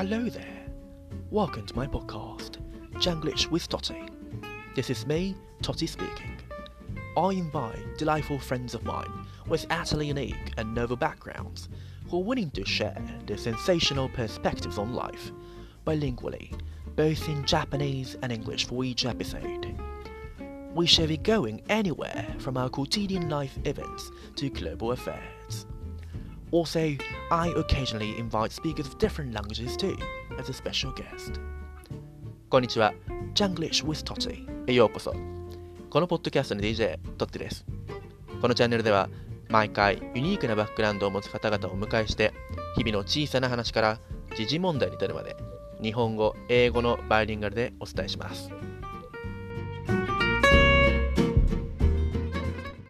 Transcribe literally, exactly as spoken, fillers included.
Hello there. Welcome to my podcast, Janglish with Totty. This is me, Totty speaking. I invite delightful friends of mine with utterly unique and novel backgrounds who are willing to share their sensational perspectives on life, bilingually, both in Japanese and English for each episode. We shall be going anywhere from our quotidian life events to global affairs. Also, I occasionally invite speakers of different languages too, as a special guest. こんにちは、Janglish with Totty へようこそ。このポッドキャストの ディージェー トッティです。このチャンネルでは、毎回ユニークなバックグラウンドを持つ方々をお迎えして、日々の小さな話から時事問題に至るまで、日本語、英語のバイリンガルでお伝えします。